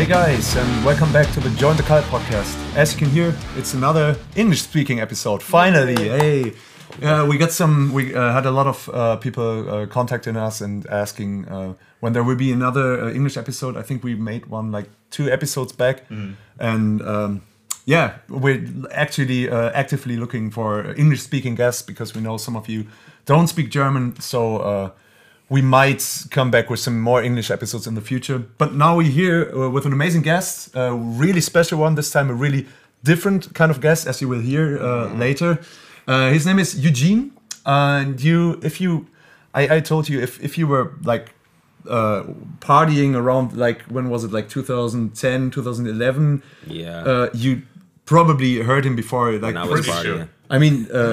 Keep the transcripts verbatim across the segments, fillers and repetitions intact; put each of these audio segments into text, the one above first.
Hey guys, and welcome back to the Join the Cult podcast. As you can hear, it's another English-speaking episode. Finally, hey! Uh, we got some. We uh, had a lot of uh, people uh, contacting us and asking uh, when there will be another uh, English episode. I think we made one like two episodes back, mm. and um, yeah, we're actually uh, actively looking for English-speaking guests because we know some of you don't speak German, so. Uh, We might come back with some more English episodes in the future. But now we're here uh, with an amazing guest, a really special one this time, a really different kind of guest, as you will hear uh, mm-hmm. later. Uh, his name is Eugene. And you, if you, I, I told you, if, if you were like uh, partying around, like, when was it, like two thousand ten, two thousand eleven? Yeah. Uh, you probably heard him before. Like, when I was partying. Sure. I mean, uh,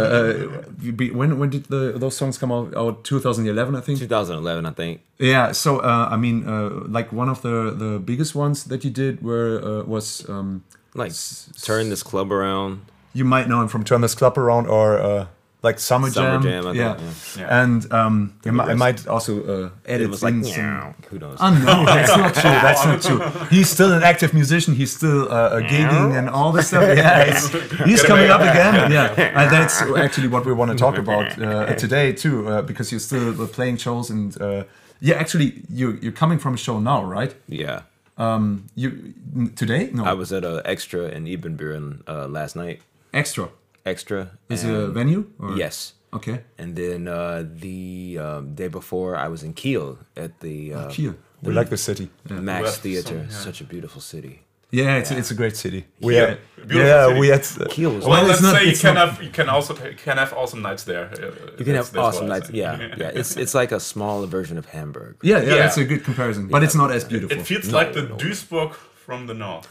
uh, when when did the those songs come out? Out twenty eleven, I think. twenty eleven, I think. Yeah. So uh, I mean, uh, like one of the, the biggest ones that you did were uh, was um, like s- Turn This Club Around. You might know him from Turn This Club Around or uh, like Summer Jam. Summer Jam, I yeah. think. Yeah. yeah. And um, I, mi- I might also uh, edit it was like, in some. Who knows? Oh no, that's not true. That's not true. He's still an active musician. He's still uh, uh, gigging and all this stuff. Yeah, it's, he's coming up again. Yeah, and that's actually what we want to talk about uh, today too, uh, because you're still uh, playing shows and uh, yeah, actually you you're coming from a show now, right? Yeah. Um, you today? No, I was at an Extra in Ibbenburen uh, last night. Extra. Extra is it a venue? Or? Yes. Okay. And then uh, the um, day before, I was in Kiel at the uh, oh, Kiel. The we like the city. Yeah. Max West Theater, some, yeah. Such a beautiful city. Yeah, it's yeah. it's a great city. We yeah, yeah, city. we had uh, Kiel. Was well, well let's not, say you can not, have you can also you can have awesome nights there. Uh, you can have awesome nights. Yeah, yeah. It's it's like a smaller version of Hamburg. Yeah, yeah, yeah. That's a good comparison, but yeah. it's not as beautiful. It feels no, like the no. Duisburg from the north.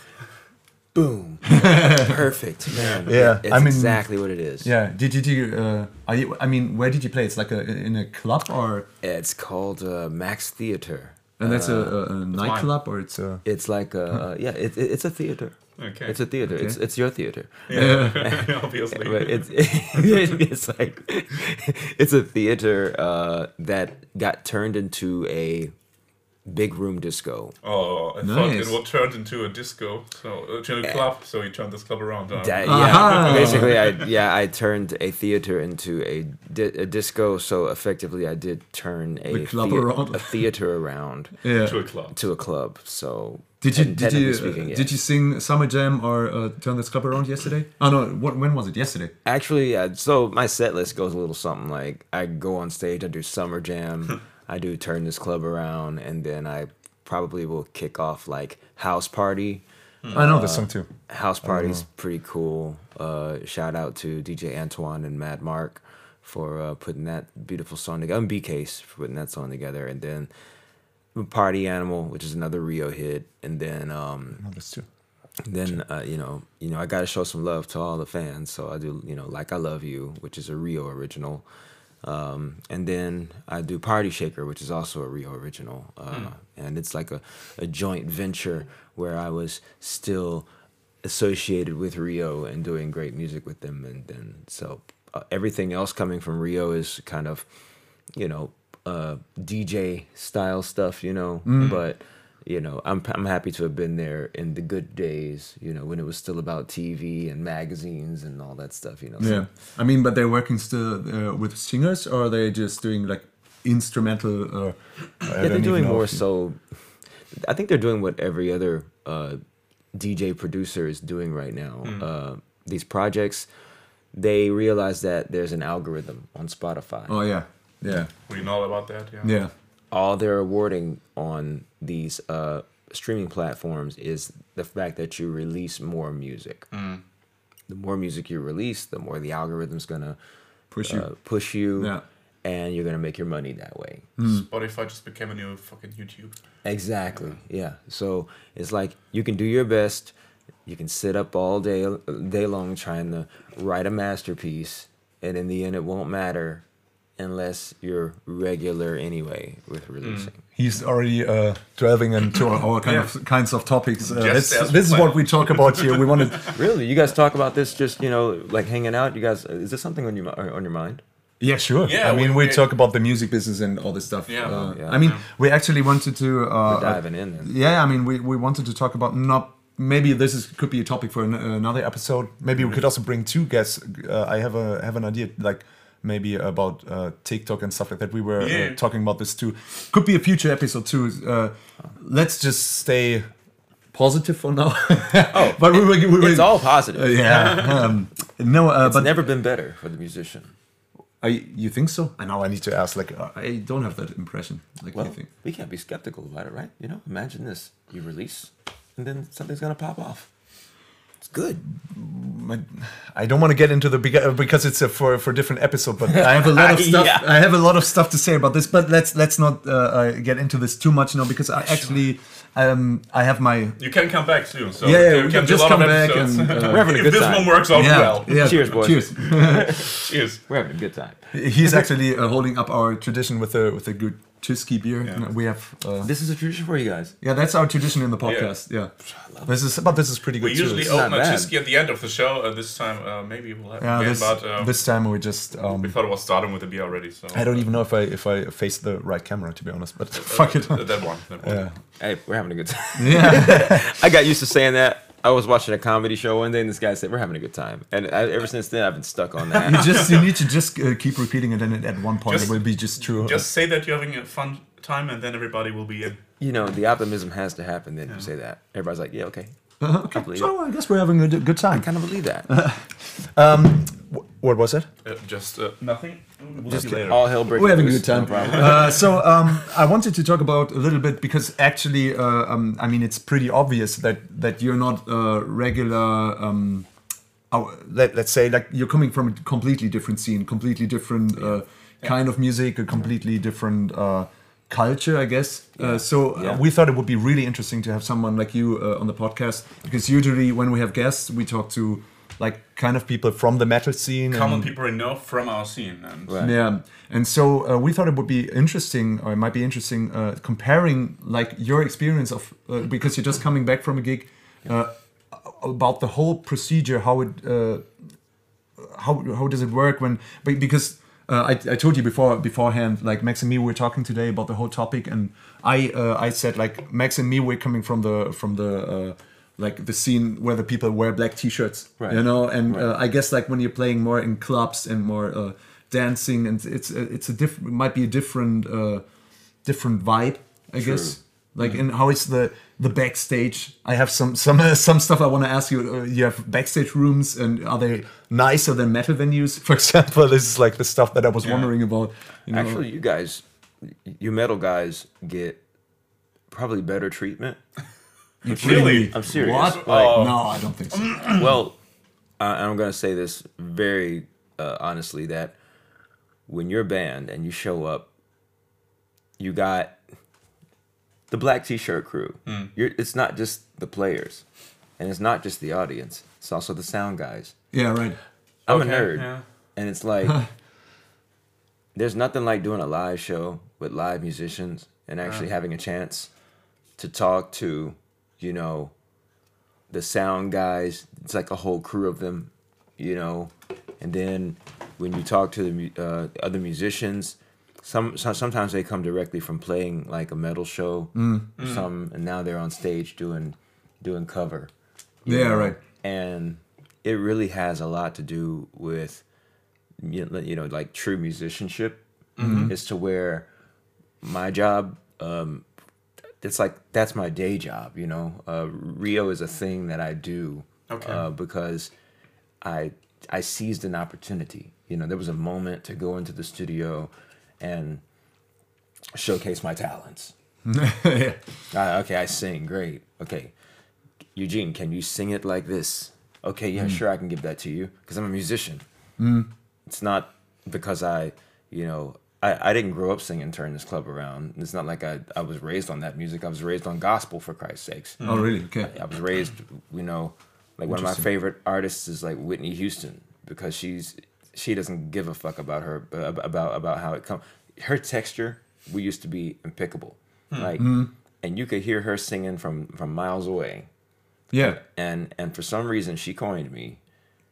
Boom. Perfect, man. Yeah, it's I mean, exactly what it is. Yeah. Did you? Did you uh, are you? I mean, where did you play? It's like a in a club or? It's called uh, Max Theater. And that's uh, a, a, a nightclub or it's a. It's like a huh. uh, yeah. It, it, it's a theater. Okay. It's a theater. Okay. It's it's your theater. Yeah, obviously. But it's it, it's like it's a theater uh, that got turned into a big room disco. Oh, I nice. thought it would turn into a disco, so uh, to a club. So you turned this club around. Huh? Da- yeah, basically, I yeah I turned a theater into a, di- a disco. So effectively, I did turn a, the club thea- around. a theater around yeah. to a club. To a club. So did you did you speaking, uh, did you sing Summer Jam or uh, Turn This Club Around yesterday? Oh no, what, when was it? Yesterday. Actually, uh, so my set list goes a little something like I go on stage, I do Summer Jam. I do Turn This Club Around, and then I probably will kick off like House Party. Hmm. I know uh, this song too. House Party's pretty cool. Uh, shout out to D J Antoine and Mad Mark for uh, putting that beautiful song together. And B-Case for putting that song together. And then Party Animal, which is another Rio hit. And then um, I know this too. Then uh, you know, you know, I gotta show some love to all the fans. So I do, you know, Like I Love You, which is a Rio original. Um, and then I do Party Shaker, which is also a Rio original. Uh, mm. And it's like a, a joint venture where I was still associated with Rio and doing great music with them. And then so uh, everything else coming from Rio is kind of, you know, uh, D J style stuff, you know, mm. but you know, I'm I'm happy to have been there in the good days, you know, when it was still about T V and magazines and all that stuff, you know. Yeah, I mean, but they're working still uh, with singers, or are they just doing like instrumental? Uh, yeah, they're doing more so. I think they're doing what every other uh, D J producer is doing right now. Mm. Uh, these projects, they realize that there's an algorithm on Spotify. Oh yeah, yeah. We know about that. Yeah. Yeah. All they're awarding on these uh, streaming platforms is the fact that you release more music. Mm. The more music you release, the more the algorithm's gonna push uh, you, push you, yeah. and you're gonna make your money that way. Mm. Spotify just became a new fucking YouTube. Exactly. Yeah. yeah. So it's like you can do your best. You can sit up all day day long trying to write a masterpiece, and in the end, it won't matter. Unless you're regular anyway with releasing. Mm. He's already uh, delving into all kind yeah. of kinds of topics. Uh, this this is what we talk about here. We wanted really. You guys talk about this just you know like hanging out. You guys, is this something on your on your mind? Yeah, sure. Yeah, I mean, we- we, we- talk about the music business and all this stuff. Yeah. Uh, Yeah. I mean, Yeah. we actually wanted to uh, We're diving in then. Yeah, I mean, we, we wanted to talk about not maybe this is could be a topic for an, another episode. Maybe we could also bring two guests. Uh, I have a have an idea like maybe about uh, TikTok and stuff like that. We were Yeah. uh, talking about this too. Could be a future episode too. Uh, let's just stay positive for now. Oh, but we were, we were It's all positive. uh, yeah. um, no, uh, It's but never been better for the musician. I, you think so? I know I need to ask. Like, uh, I don't have that impression. Like, Well, you think? we can't be skeptical about it, right? You know, imagine this: you release, and then something's gonna pop off. It's good. My- I don't want to get into the bega- because it's a for for different episode. But I have a lot of stuff. Yeah. I have a lot of stuff to say about this. But let's let's not uh, uh, get into this too much now because I actually um I have my You can come back soon. So yeah, yeah we we can can do a just lot come of back episodes. and uh, We're having a if good this time. one works out yeah, well. yeah. Cheers, boys. Cheers. Cheers. We're having a good time. He's actually uh, holding up our tradition with a with a good Tyskie beer. Yeah. We have uh, This is a tradition for you guys. yeah, that's our tradition in the podcast. Yeah, this is but this is pretty good We too. usually It's- open not a bad. Tyskie at the end of the show. Uh, this time, uh, maybe we'll have yeah, again, this, but uh, this time we just um, we thought it was starting with the beer already. So I don't even know if I if I face the right camera to be honest, but fuck it. Uh, that one. That one. Yeah. Hey, we're having a good time. Yeah. I got used to saying that. I was watching a comedy show one day, and this guy said, "We're having a good time," and I, ever since then, I've been stuck on You that. just you need to just uh, keep repeating it, and at one point Just- it will be just true. Just say that you're having a fun time, and then everybody will be in. You know, the optimism has to happen. Then you say that. Everybody's like, "Yeah, okay." Uh, okay, so I guess we're having a d- good I time. kind of believe that. Wh- What was it? Uh, just uh, nothing. We'll Just see later. all hell breaking We're having a loose, good time. no problem. Uh, so um, I wanted to talk about a little bit because actually, uh, um, I mean, it's pretty obvious that that you're not a regular. Um, our- let, let's say like you're coming from a completely different scene, completely different uh, kind of music, a completely different uh, culture, I guess. Uh, so uh, Yeah. we thought it would be really interesting to have someone like you uh, on the podcast because usually when we have guests, we talk to like kind of people from the metal scene. Common and- people we know from our scene, and Right. yeah, and so uh, we thought it would be interesting, or it might be interesting, uh, comparing like your experience of uh, because you're just coming back from a gig, uh, about the whole procedure, how it, uh, how how does it work when, be- because uh, I I told you before beforehand, like Max and me were talking today about the whole topic, and I uh, I said like Max and me we're coming from the from the. Uh, like the scene where the people wear black t-shirts, Right. you know, and Right. uh, I guess like when you're playing more in clubs and more uh, dancing, and it's uh, it's a different, it might be a different uh, different vibe, I guess. Like, and how is the the backstage? I have some some uh, some stuff I want to ask you. Uh, you have backstage rooms, and are they nicer than metal venues? For example, this is like the stuff that I was Yeah. wondering about. You know? Actually, you guys, you metal guys get probably better treatment. really, I'm serious. What? Like, Oh. No, I don't think so. well, I, I'm gonna say this very uh, honestly that when you're a band and you show up, you got the black t-shirt crew. You're, it's not just the players, and it's not just the audience. It's also the sound guys. Yeah, right. I'm Okay, a nerd, yeah. and it's like there's nothing like doing a live show with live musicians and actually having a chance to talk to, you know, the sound guys. It's like a whole crew of them, you know, and then when you talk to the mu- uh, other musicians, some, some sometimes they come directly from playing like a metal show, some, and now they're on stage doing doing cover. you Yeah, know? right. And it really has a lot to do with you know, you know like true musicianship. As to where my job, um, it's like that's my day job. You know, uh, Rio is a thing that I do Okay. uh, because I I seized an opportunity. You know, there was a moment to go into the studio and showcase my talents. Yeah. Uh, okay, I sing great. Okay, Eugene, can you sing it like this? Okay, yeah, sure, I can give that to you because I'm a musician. It's not because I, you know, I, I didn't grow up singing "Turn This Club Around." It's not like I, I was raised on that music. I was raised on gospel, for Christ's sakes. Oh, really? Okay. I was raised, you know, like one of my Interesting. favorite artists is like Whitney Houston because she's she doesn't give a fuck about her about about how it comes. Her texture, we used to be impeccable, like, and you could hear her singing from from miles away. Yeah. And and for some reason she coined me,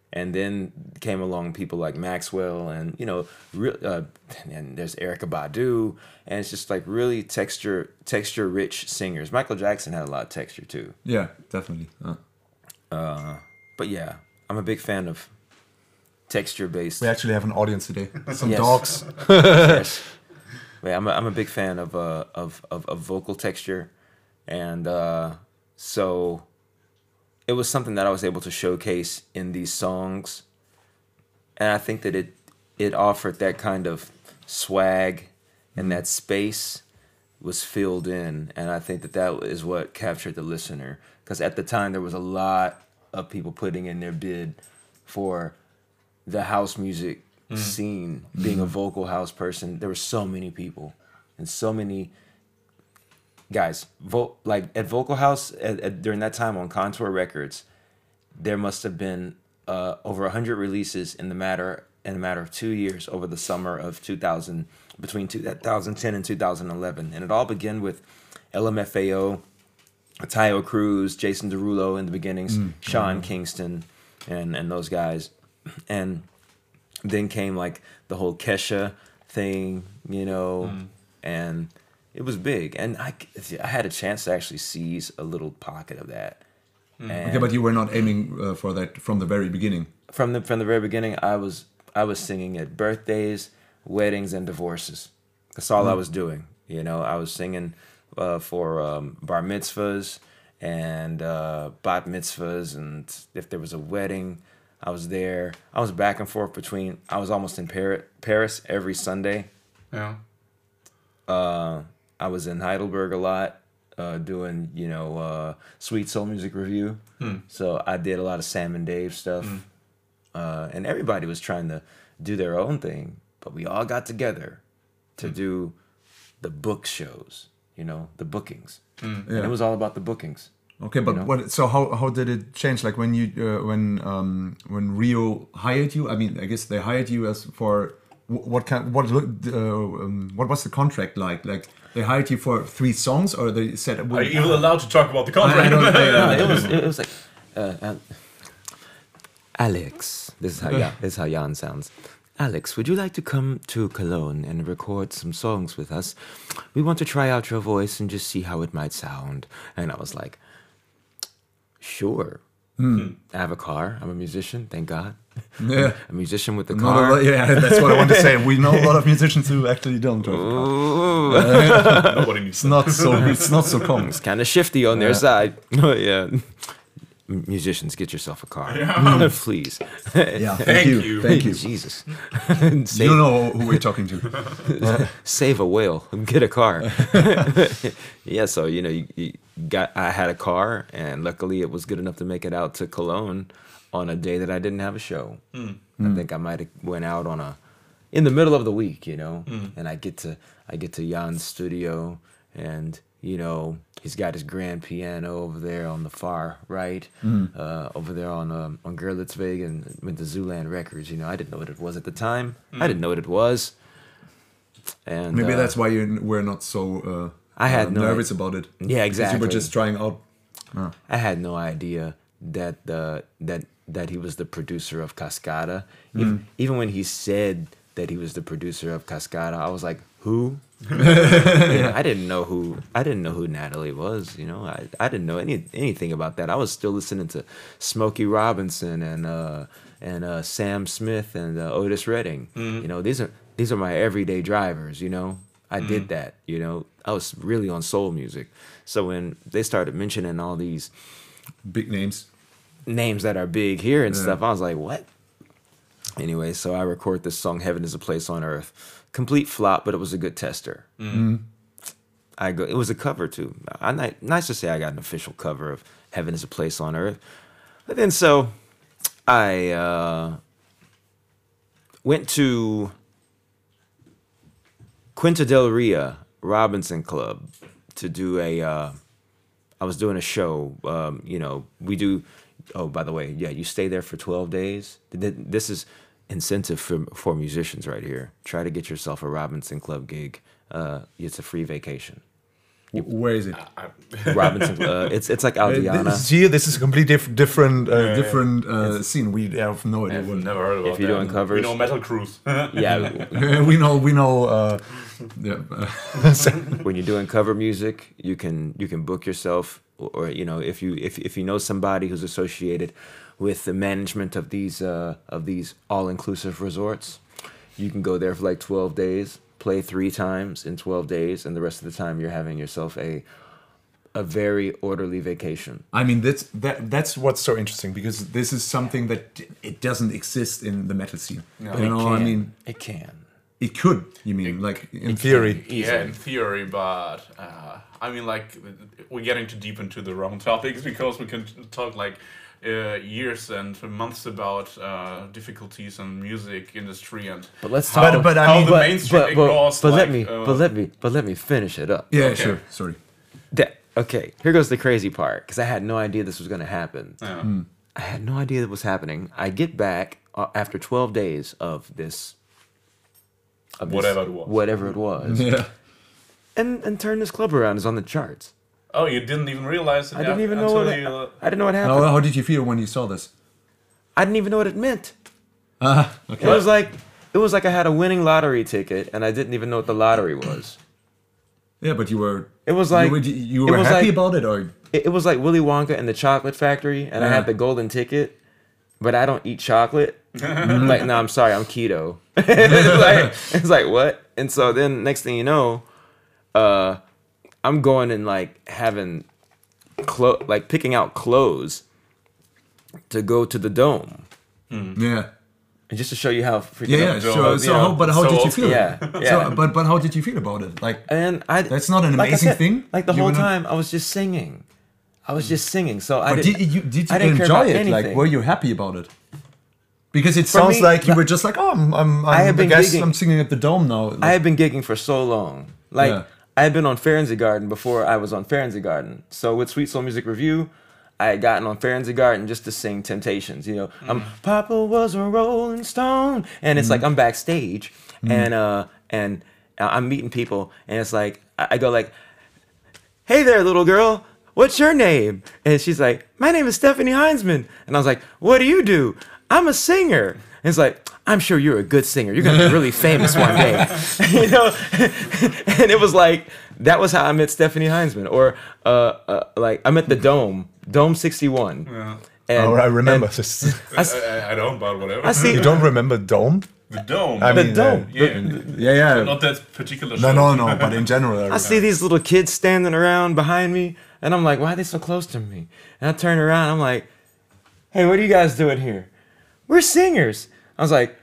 And then came along people like Maxwell and, you know, re- uh, and there's Erykah Badu. And it's just like really texture, texture rich singers. Michael Jackson had a lot of texture too. Yeah, definitely. Uh. Uh, but yeah, I'm a big fan of texture based. We actually have an audience today. Some Yes. dogs. Yes. Yeah, I'm a, I'm a big fan of, uh, of, of, of vocal texture. And uh, so it was something that I was able to showcase in these songs. And I think that it it offered that kind of swag, and that space was filled in. And I think that that is what captured the listener. Because at the time, there was a lot of people putting in their bid for the house music scene. Being a vocal house person, there were so many people and so many guys. Vo- like at Vocal House at, at, during that time on Contour Records, there must have been uh, over a hundred releases in the matter in a matter of two years over the summer of two thousand, between two thousand ten and two thousand eleven, and it all began with L M F A O, Tayo Cruz, Jason Derulo in the beginnings, mm. Sean Kingston, and and those guys, and then came like the whole Kesha thing, you know, mm. and it was big, and I, I had a chance to actually seize a little pocket of that. Mm. Okay, but you were not aiming uh, for that from the very beginning. From the from the very beginning, I was I was singing at birthdays, weddings, and divorces. That's all mm. I was doing. You know, I was singing uh, for um, bar mitzvahs and uh, bat mitzvahs, and if there was a wedding, I was there. I was back and forth between. I was almost in Paris, Paris every Sunday. Yeah. Uh, I was in Heidelberg a lot, uh, doing, you know, uh, Sweet Soul Music Review. Hmm. So I did a lot of Sam and Dave stuff. Hmm. Uh, and everybody was trying to do their own thing. But we all got together to hmm. do the book shows, you know, the bookings. Hmm. Yeah. And it was all about the bookings. Okay, but you know? what? So how how did it change? Like when you uh, when um, when Rio hired you? I mean, I guess they hired you as for what kind? What uh, um, what was the contract like? Like they hired you for three songs, or they said? Are you even allowed to talk about the contract? I don't, I, it was it was like uh, uh, Alex. This is how yeah, this is how Jan sounds. Alex, would you like to come to Cologne and record some songs with us? We want to try out your voice and just see how it might sound. And I was like, sure. Hmm. I have a car. I'm a musician, thank God. Yeah. A musician with a car. Lot, yeah, that's what I want to say. We know a lot of musicians who actually don't drive a car. Uh, Nobody needs it's not so it's not so common. It's kind of shifty on yeah. their side. Yeah. Musicians, get yourself a car, yeah. Please. Yeah, thank, thank you. you, thank you. Jesus, Save, you don't know who we're talking to. Save a whale, get a car. Yeah, so you know, you, you got. I had a car, and luckily, it was good enough to make it out to Cologne on a day that I didn't have a show. Mm. I mm. think I might have went out on a in the middle of the week, you know, mm. and I get to I get to Jan's studio, and you know. He's got his grand piano over there on the far right, mm. uh, over there on um, on Gerlitzweg and with the Zooland Records. You know, I didn't know what it was at the time. Mm. I didn't know what it was. And maybe uh, that's why you were not so uh, I had uh, no nervous about it. Yeah, exactly. You were just trying out. Oh. I had no idea that uh, that that he was the producer of Cascada. Mm. Even, even when he said that he was the producer of Cascada, I was like, who? You know, I didn't know who I didn't know who Natalie was. You know, I, I didn't know any anything about that. I was still listening to Smokey Robinson and uh, and uh, Sam Smith and uh, Otis Redding. Mm-hmm. You know, these are these are my everyday drivers. You know, I mm-hmm. did that. You know, I was really on soul music. So when they started mentioning all these big names, names that are big here and yeah. stuff, I was like, what? Anyway, so I record this song, "Heaven Is a Place on Earth." Complete flop, but it was a good tester. Mm. I go. It was a cover too. I nice to say I got an official cover of "Heaven Is a Place on Earth." But then so I uh, went to Quinta del Ria Robinson Club to do a. Uh, I was doing a show. Um, you know, we do. Oh, by the way, yeah, you stay there for twelve days. This is. Incentive for for musicians right here. Try to get yourself a Robinson Club gig. Uh, it's a free vacation. W- Where is it? Robinson. Uh, it's it's like Uh, Aldiana. this is here. This is a completely diff- different, uh, yeah. different uh, scene. We have no idea. I've What. never heard about If you're that. doing covers- We know Metal Cruise. Yeah, we know. We know. Uh, yeah. when you're doing cover music, you can you can book yourself, or, or you know, if you if if you know somebody who's associated with the management of these uh, of these all-inclusive resorts, you can go there for like twelve days, play three times in twelve days, and the rest of the time you're having yourself a a very orderly vacation. I mean, that's that. That's what's so interesting because this is something that it doesn't exist in the metal scene. No. You know, I mean, it can. it could. You mean, like in theory? Yeah, in theory, but uh, I mean, like we're getting too deep into the wrong topics because we can talk like uh, years and months about uh, difficulties in music industry and But let's how, talk. But- but I how mean- the but- mainstream but, but, ignores. but like, let me uh, but let me but let me finish it up. Yeah, Okay. sure. Sorry. That, okay, here goes the crazy part, because I had no idea this was going to happen. yeah. I had no idea that was happening. I get back uh, after twelve days of this, of this- Whatever it was. whatever it was, Yeah. and and turn this club around is on the charts. Oh, you didn't even realize it. I didn't yeah, even know until what you, it, uh, I didn't know what happened. How, how did you feel when you saw this? I didn't even know what it meant. Ah, It okay. was like it was like I had a winning lottery ticket, and I didn't even know what the lottery was. Yeah, but you were. It was like you were, you it were was happy like- about it, or It, it was like Willy Wonka and the Chocolate Factory, and I Yeah. had the golden ticket, but I don't eat chocolate. Like, no, I'm sorry, I'm keto. it's like it's like what? And so then next thing you know, uh, I'm going and like having clo- like picking out clothes to go to the dome, yeah, and just to show you how freaking yeah, yeah. So, So, you so, know, how, but how so did you old feel? Yeah, So, yeah. but but how did you feel about it? Like, And I That's not an like I amazing said, thing? Like the You were were not- time, I was just singing. I was just singing. So I but didn't. did you did you I didn't care enjoy about it? Like, anything. were you happy about it? Because it For sounds me, like you like- were just like, oh, I'm, I'm, I'm I have I been guess gigging- I'm singing at the Dome now. I had been gigging for so long. Like Yeah. I had been on Garden before I was on Garden. So with Sweet Soul Music Review, I had gotten on Garden just to sing Temptations. You know, um, Papa was a Rolling Stone, and it's like I'm backstage, and uh, and I'm meeting people, and it's like I I go like, "Hey there, little girl. What's your name?" And she's like, "My name is Stephanie Heinzman." And I was like, "What do you do?" "I'm a singer." And it's like, "I'm sure you're a good singer. You're gonna be really famous one day." You know? And it was like that was how I met Stephanie Heinzman. Or uh, uh like I met the Dome, Dome sixty-one. Yeah. And, oh, I remember and this. I, I, I don't, but whatever. I see You don't remember Dome? the dome. I the mean, Dome. uh, yeah, Yeah, yeah. not that particular. No, show. no, no. But in general, I I remember. see these little kids standing around behind me, and I'm like, why are they so close to me? And I turn around, I'm like, hey, what are you guys doing here? We're singers. I was like,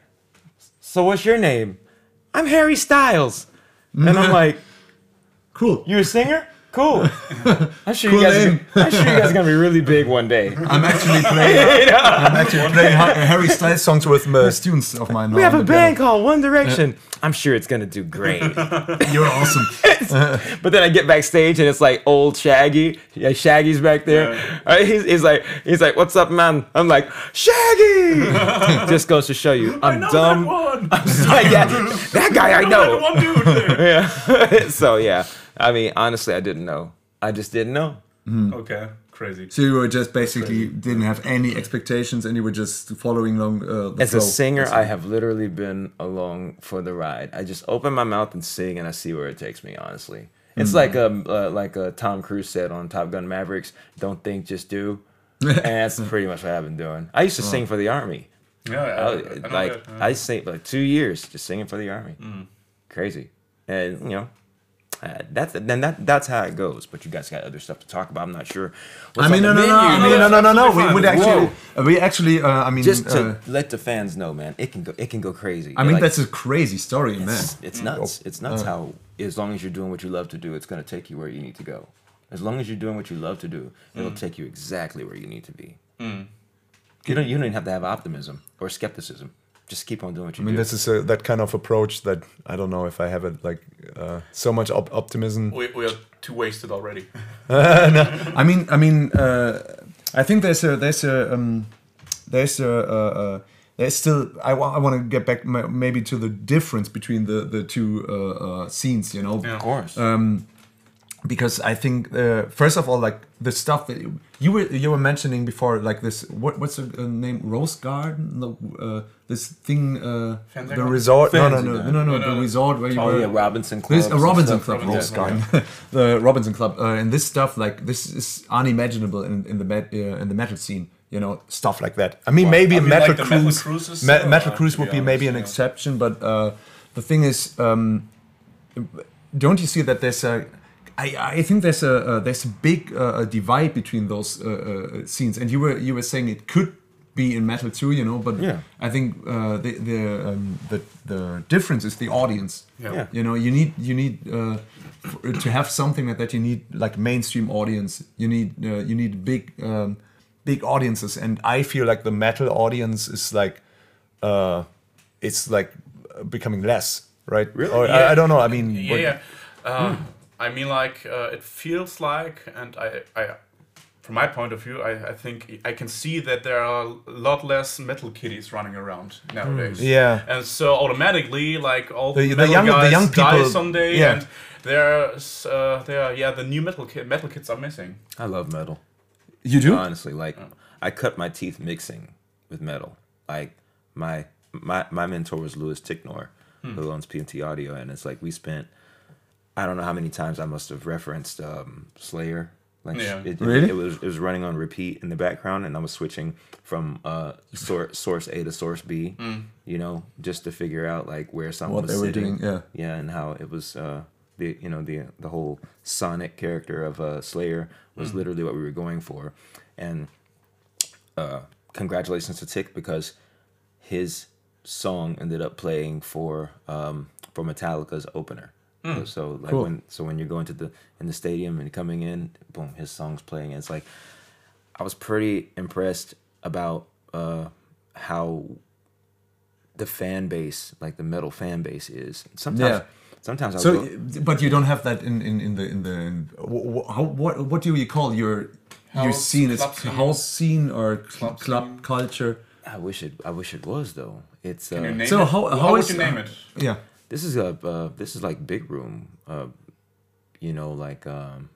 so what's your name? I'm Harry Styles. And I'm like, Cool. you a singer? Cool. I'm sure Cool you guys. name. I'm sure you guys are gonna be really big one day. I'm actually playing. I'm actually playing Ha- Harry Styles songs with uh, students of mine. We have a band called One Direction. I'm sure it's gonna do great. You're awesome. But then I get backstage and it's like old Shaggy. Yeah, Shaggy's back there. Yeah. Uh, he's, he's like, he's like, "What's up, man?" I'm like, "Shaggy." Just goes to show you, I'm I know dumb. that one. I'm just like, yeah, that guy I That know. one dude there. Yeah. So yeah, I mean, honestly, I didn't know. I just didn't know. Okay, crazy. So you were just basically didn't have any expectations, and you were just following along uh, the As flow. a singer, I have literally been along for the ride. I just open my mouth and sing, and I see where it takes me. Honestly, it's like um uh, like uh, Tom Cruise said on Top Gun Mavericks: "Don't think, just do." And that's pretty much what I've been doing. I used to sing for the army. Yeah, I, I, I, I know like that, yeah. I sang like two years just singing for the army. Crazy, and you know. Uh, that's then that that's how it goes. But you guys got other stuff to talk about. I'm not sure. what's I mean, no, on no, the no, I menu. mean, no, no, no, no. We Absolutely would fine. actually, uh, we actually, uh, I mean, Just to uh, let the fans know, man, it can go, it can go crazy. I mean, Like, that's a crazy story, man. it's, it's nuts. It's nuts how as long as you're doing what you love to do, it's gonna take you where you need to go. As long as you're doing what you love to do, it'll take you exactly where you need to be. You don't you don't even have to have optimism or skepticism. Just keep on doing what you I mean, do. this is a, that kind of approach that I don't know if I have it. Like uh, so much op- optimism. We, we are too wasted already. I mean, I mean, uh, I think there's a there's a um, there's a uh, uh, there's still I want I want to get back ma- maybe to the difference between the the two uh, uh, scenes. You know, Yeah. Of course. Um, because I think uh, first of all, like the stuff that you, you were you were mentioning before, like this what what's the uh, name, Rose Garden, the, uh, this thing, uh, Fancy the Garden? resort, no no Fancy no no Garden. no, no, No, no, the resort where you Oh were. yeah, Robinson Club. This a Robinson Club, Robinson, Rose yeah. Garden, the Robinson Club, uh, and this stuff, like this is unimaginable in, in the met, uh, in the metal scene. You know, stuff like that. I mean, Well, maybe I a mean, Metal like the Metal Cruise, Cruises, Me- uh, Metal to Cruise be would be maybe an honest, yeah. exception, but uh, the thing is, um, don't you see that there's a I, I think there's a uh, there's a big uh, a divide between those uh, uh, scenes, and you were you were saying it could be in metal too, you know, but Yeah. I think uh, the the, um, the the difference is the audience. Yeah. Yeah. You know, you need you need uh, for, to have something like that. You need like mainstream audience. You need uh, you need big um, big audiences, and I feel like the metal audience is like uh, it's like becoming less, right? Really? Or, I, I don't know. I mean, Yeah, what- yeah. Uh, I mean, like uh, it feels like, and I, I, from my point of view, I, I think I can see that there are a lot less metal kiddies running around nowadays. Yeah. and so automatically, like all The- the, the metal young- the guys young die people- someday, yeah. and there's, uh, there, yeah, the new metal ki- metal kids are missing. I love metal. you do. Honestly, like I cut my teeth mixing with metal. Like my my my mentor was Louis Ticknor, who owns P M T Audio, and it's like we spent I don't know how many times I must have referenced um, Slayer. Like Yeah. it, it, Really? it was it was running on repeat in the background, and I was switching from uh, source source A to source B. You know, just to figure out like where something What was they were sitting. doing, yeah. yeah, and how it was. Uh, the you know the the whole sonic character of uh, Slayer was literally what we were going for, and uh, congratulations to Tick, because his song ended up playing for um, for Metallica's opener. So, so like Cool. when so when you're going to the in the stadium and coming in, boom, his song's playing. And it's like I was pretty impressed about uh, how the fan base, like the metal fan base, is. Sometimes, Yeah. sometimes I So, go, but you don't have that in, in, in the in the in, wh- wh- how, what what do you call your your House, scene? Is club scene. house scene or cl- Club club scene. culture? I wish it I wish it was though. It's uh, Can you name So it? how- how, how would is- you name it? Yeah, this is a uh, this is like big room, uh, you know, like um,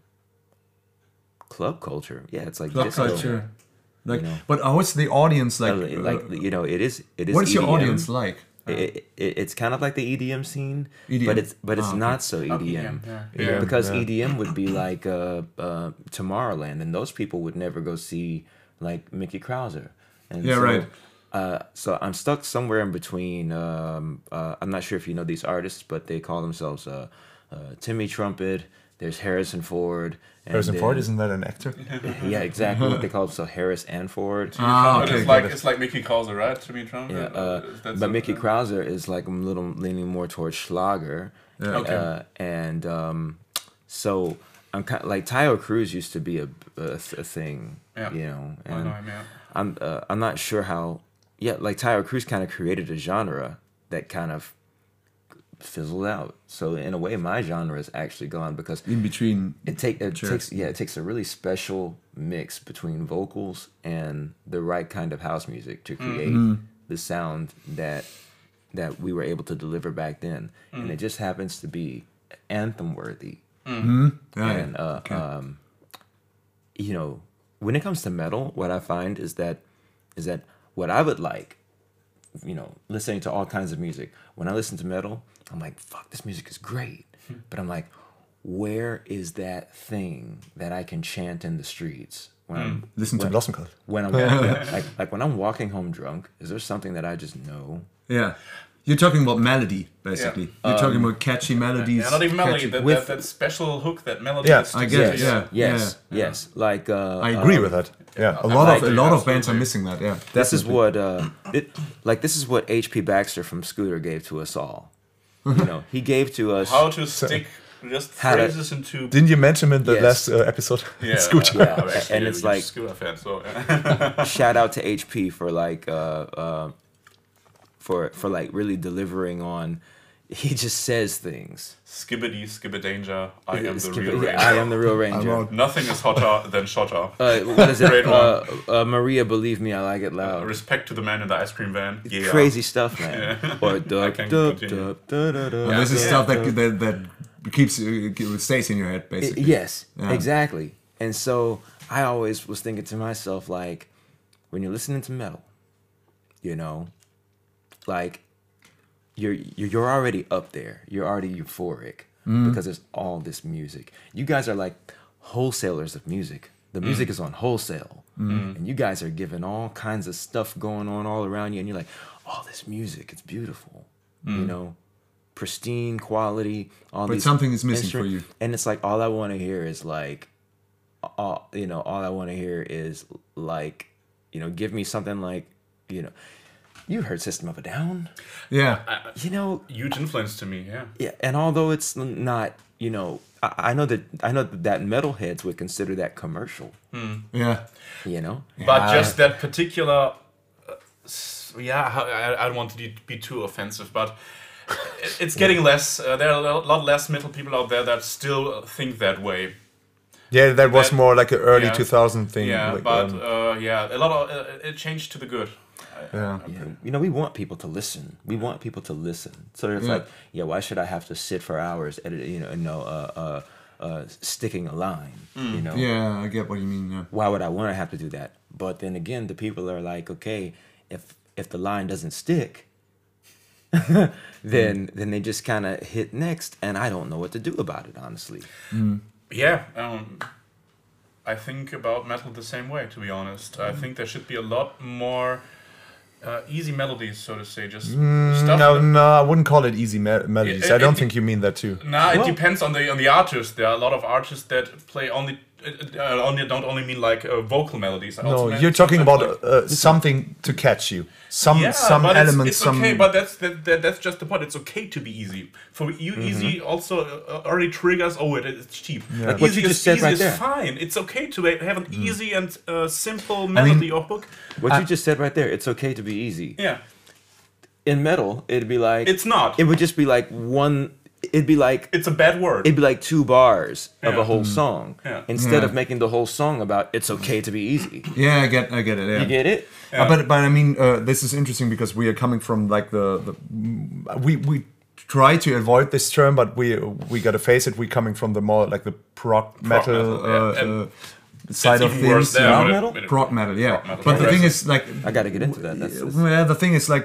club culture. Yeah, it's like club disco. culture. Like, You know. but how is the audience like? Like, like uh, you know, it is it is. what is your E D M. audience like? It, it, it's kind of like the E D M scene, E D M. but it's but it's Ah, okay. not so E D M. Oh, E D M, yeah. Yeah, Yeah. because Yeah. E D M would be like uh, uh, Tomorrowland, and those people would never go see like Mickey Krauser. And Yeah, so, right. Uh, so I'm stuck somewhere in between. Um, uh, I'm not sure if you know these artists, but they call themselves uh, uh, Timmy Trumpet. There's Harrison Ford. And Harrison then- Ford, isn't that an actor? Yeah, exactly what they call themselves, Harris and Ford. Ah, But okay, it's got like it. it's like Mickey Krauser, right? To be Trump. Yeah, uh, but Mickey Krauser is like a little leaning more towards Schlager. Yeah. Okay. Uh, and um, so I'm kind like Tayo Cruz used to be a, a, a thing, Yeah. you know. I And know him, yeah. I'm uh, I'm not sure how. Yeah, like Tayo Cruz kind of created a genre that kind of fizzled out. So in a way, my genre is actually gone because In between. it take it Sure. takes yeah it takes a really special mix between vocals and the right kind of house music to create the sound that that we were able to deliver back then, and it just happens to be anthem worthy. Yeah, And yeah. uh, um, you know, when it comes to metal, what I find is that is that what I would like, you know, listening to all kinds of music. When I listen to metal, I'm like, fuck, this music is great. But I'm like, where is that thing that I can chant in the streets when I'm Listen to when, Blossom Cult. when I'm yeah, like like when I'm walking home drunk? Is there something that I just know? Yeah. You're talking about melody, basically. You're talking about catchy melodies. Yeah, not even melody. catchy- That, with- that, that special hook that melody. Yeah, is I to- get it, to- yeah. Yes, yes. Like uh, I agree um, with that. Yeah, a I lot like of a it, lot of bands are absolutely. missing that. Yeah, This is definitely. what uh, it like. This is what H P Baxter from Scooter gave to us all. You know, he gave to us. How to stick just How to- phrases into. Didn't you mention in the Yes. last uh, episode? Yeah, Scooter. uh, I'm Yeah, actually and a it's huge like- Scooter fan. So Shout out to H P for like uh, uh, for for like really delivering on. He just says things. skibbity, skibba danger. I am the Skip- real yeah, ranger. I am the real I'm ranger. out. Nothing is hotter than Shotter. Uh, what is it? Great Uh, uh, Maria, believe me, I like it Uh, loud. respect to the man in the ice cream van. Yeah. Crazy stuff, man. Or I dub, can dub, continue. dub, da, da, da, And this is da, stuff da. that that that keeps it stays in your head basically. It- yes, Yeah. exactly. And so I always was thinking to myself, like, when you're listening to metal, you know, like you're you're you're already up there. You're already euphoric because there's all this music. You guys are like wholesalers of music. The music is on wholesale, and you guys are giving all kinds of stuff going on all around you, and you're like, oh, this music, it's beautiful, you know, pristine quality. All But these something is missing instru- for you. and it's like all I want to hear is like, all you know, all I want to hear is like, you know, give me something like, you know, you heard System of a Down, Yeah. you know, Huge influence to me. Yeah. yeah, and although it's not, you know, I, I know that I know that metalheads would consider that commercial, Yeah. you know. But Yeah. just that particular, uh, s- yeah, how- I, I don't want to be too offensive, but it- it's getting less. Uh, there are a lot less metal people out there that still think that way. Yeah, that was That- more like an early yeah. two thousand thing. Yeah, like, but um, uh, yeah, a lot of uh, it changed to the good. I- yeah. Yeah, you know, we want people to listen. We want people to listen. So it's Yeah. like, yeah, why should I have to sit for hours, edit, you know, you know, uh, uh, uh, sticking a line, you know? Yeah, I get what you mean. Yeah. Why would I want to have to do that? But then again, the people are like, okay, if if the line doesn't stick, then then they just kind of hit next, and I don't know what to do about it, honestly. Yeah, um, I think about metal the same way. To be honest, I think there should be a lot more uh, easy melodies, so to say. Just stuff. No, that- no, I wouldn't call it easy me- melodies. It- I don't it- think you mean that too. Nah, it Well- depends on the on the artist. There are a lot of artists that play only. Uh, only don't only mean like uh, vocal melodies. I also No, meant you're talking about sometimes, uh, something to catch you. Some yeah, some but it's- elements. It's, some. okay, but that's that, that, that's just the point. It's okay to be easy. For you, easy also uh, already triggers. Oh, it, it's cheap. Like what Easy you is, just said easy right is there. fine. It's okay to ha- have an easy and uh, simple melody or hook. What you just said right there, it's okay to be easy. Yeah, In metal, it'd be like it's not. it would just be like one. It'd be like it's a bad word. it'd be like two bars of Yeah. a whole song Yeah. instead of Yeah. making the whole song about it's okay to be easy. Yeah, I get, I get it. Yeah. You get it? Uh, but but I mean, uh, this is interesting because we are coming from like the, the we we try to avoid this term, but we we gotta face it. We're coming from the more like the prog metal, metal, yeah. uh, And uh, side of even things. worse there, you know? but it- metal? but it- Prog metal, yeah. Prog metal. But the thing Progressive. is, like, I got to get into that. That's, that's well, the thing is, like,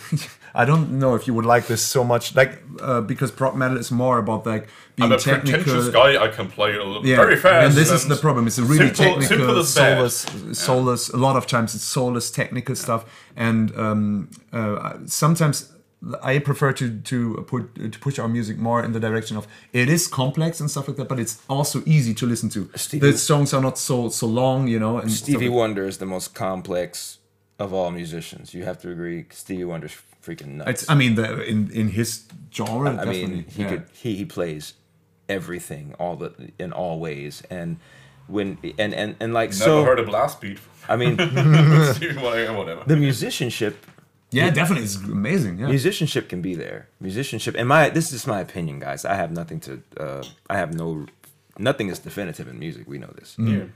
I don't know if you would like this so much, like, uh, because prog metal is more about like being I'm a technical. pretentious guy. I can play a little Yeah, very fast. and this is and the problem. It's a really simple- simple technical, is bad. soulless, soulless. A lot of times it's soulless, technical stuff, and um, uh, sometimes I prefer to to put to push our music more in the direction of it is complex and stuff like that, but it's also easy to listen to. Stevie- The songs are not so so long, you know. And stuff Stevie like- Wonder is the most complex of all musicians. You have to agree. Stevie Wonder's freaking nuts. It's, I mean, the, in in his genre, I definitely. mean, he yeah. could he, he plays everything all the in all ways, and when and and and like Never so. heard a blast beat. I mean, Whatever. the musicianship Yeah, definitely, it's amazing. Yeah. musicianship can be there. Musicianship, and my this is my opinion, guys. I have nothing to. Uh, I have no. Nothing is definitive in music. We know this, Yeah.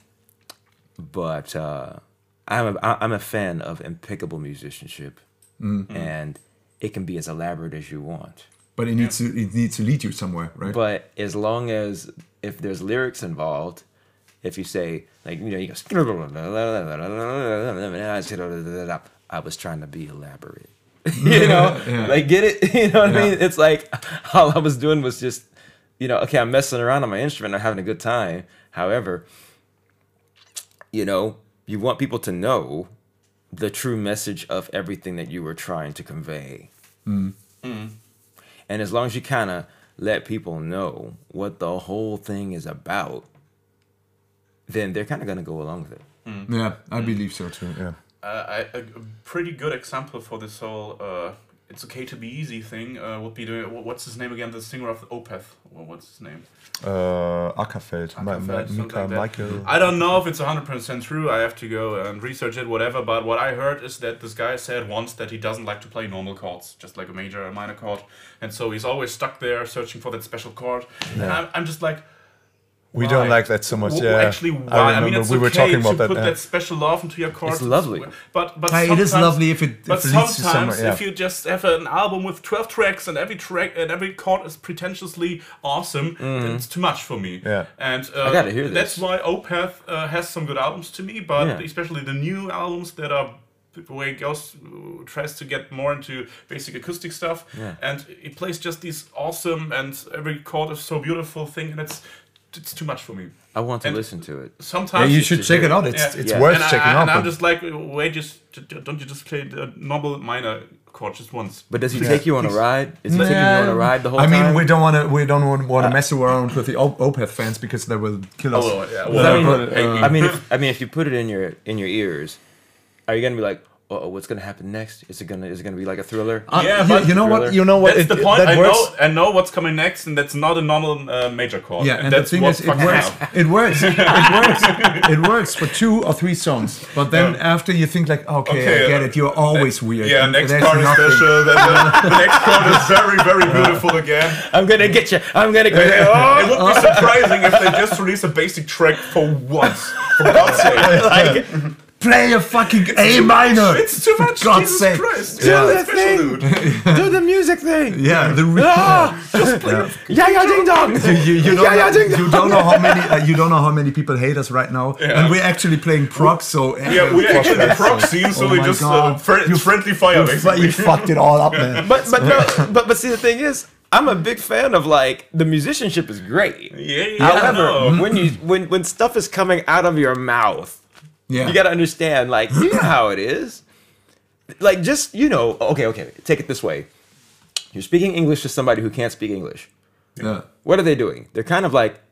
but uh, I'm a, I'm a fan of impeccable musicianship, and it can be as elaborate as you want. But it needs to it needs to lead you somewhere, right? But as long as if there's lyrics involved, if you say like you know you go, I was trying to be elaborate, you know, Yeah. like get it, you know what I Yeah. mean? It's like all I was doing was just, you know, okay, I'm messing around on my instrument, I'm having a good time. However, you know, you want people to know the true message of everything that you were trying to convey. And as long as you kind of let people know what the whole thing is about, then they're kind of going to go along with it. Yeah, I believe so too. Yeah. Uh, I, a, a pretty good example for this whole uh, "it's okay to be easy" thing uh, would be the what's his name again? The singer of Opeth. Well, what's his name? Uh, Ackerfeld, Ma- Ma- Ackerfeld, something Mika, like that. Michael. I don't know if it's one hundred percent true. I have to go and research it, whatever. But what I heard is that this guy said once that he doesn't like to play normal chords, just like a major or a minor chord. And so he's always stuck there searching for that special chord. And I'm, I'm just like, We Why? don't like that so much. W- Yeah, Actually, why? I I, remember mean, it's we okay were talking about to that. put yeah. that special love into your chords. It's lovely. But but Hey, it is sometimes- lovely if it- But if it leads to sometimes somewhere, yeah. if you just have an album with twelve tracks and every track and every chord is pretentiously awesome, then it's too much for me. Yeah. And uh, I gotta hear this. that's why Opeth uh, has some good albums to me, but Yeah. especially the new albums that are where it goes uh, tries to get more into basic acoustic stuff, Yeah. and it plays just these awesome and every chord is so beautiful thing, and it's it's too much for me. I want to And- listen to it. Sometimes Yeah, you should check it out. It's Yeah. it's Yeah. worth and I- checking I, out. And I'm but- just like, wait, just don't you just play the normal minor chord just once? But does he Yeah. take you on a ride? Is he taking you on a ride the whole I mean, time? we don't want to. We don't want, want to mess around with the Op- Opeth fans because they will kill us. Oh, yeah. Well, Well, I mean, but, hey, uh, I mean, if, I mean, if you put it in your in your ears, are you gonna be like, oh, what's gonna happen next? Is it gonna is it gonna be like a thriller? Uh, Yeah, you, but- you know what? Thriller. You know what? That's it- the point. That I works. know, I know what's coming next, and that's not a normal uh, major chord. Yeah, and that's the thing what is, it fucking works. hell. It works. It works. It works for two or three songs. But then Yeah. after you think like, okay, Okay, I get uh, it. You're always weird. Yeah, and next there's part is nothing. special. Then the, the next chord is very, very beautiful again. I'm gonna get you. I'm gonna get It you. would be surprising if they just released a basic track for once. For God's sake. Like, Play a fucking A minor. It's too much. For God's Jesus sake. Christ. do Yeah. the Special thing. dude. Do the music thing. Yeah, the re- Ah, yeah. yeah, yeah, ding dong. You, you, you, don't Yeah, yeah, know, ding dong. you don't know how many uh, you don't know how many people hate us right now, and we're actually playing prog. So Yeah, we actually the prog scene, so Oh we my just uh, God. fri- You- friendly fire you, fu- basically. you fucked it all up, man. But but no, but but see the thing is, I'm a big fan of like the musicianship is great. Yeah, yeah, However, I know. when you when when stuff is coming out of your mouth, Yeah, you got to understand, like, you know how it is. Like, just, you know, okay, okay, take it this way. You're speaking English to somebody who can't speak English. yeah, What are they doing? They're kind of like,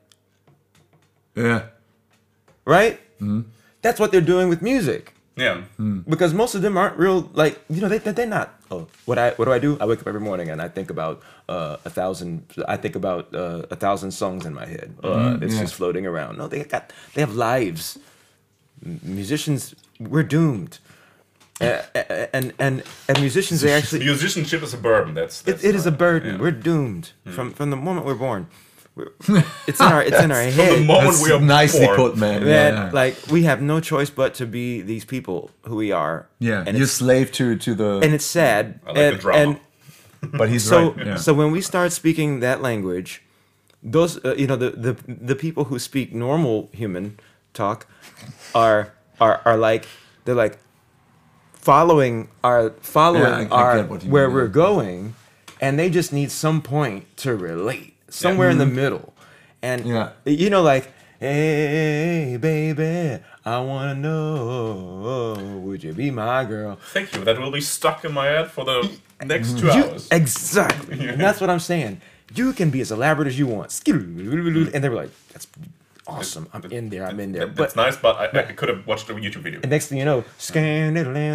yeah. right? That's what they're doing with music. Yeah. Because most of them aren't real, like, you know, they, they- they're not. Oh, what I what do I do? I wake up every morning and I think about uh, a thousand. I think about uh, a thousand songs in my head. Uh, it's yeah. just floating around. No, they got they have lives. M- musicians, we're doomed. Uh, and and and musicians, they actually Musicianship is a burden. That's, it, that's it is a not- burden. yeah. We're doomed from from the moment we're born. We're, it's in our it's in our From the head. moment That's we are nicely born. put, man. Man, Yeah, yeah. like we have no choice but to be these people who we are. yeah. and You're it's, slave to to the. and it's sad. I like and, the drama. and but he's so right. Yeah. so when we start speaking that language, those uh, you know the, the the people who speak normal human talk are are are like they're like following our following Yeah, I- I our get what you where mean, we're yeah. going, and they just need some point to relate somewhere in the middle, and Yeah. you know like hey baby, I wanna know, would you be my girl? Thank you. That will be stuck in my head for the next two You- hours. Exactly. And that's what I'm saying. You can be as elaborate as you want. And they were like, that's awesome. I'm in there. I'm in there. That- But That's nice, but I, I could have watched the YouTube video. and next thing you know, and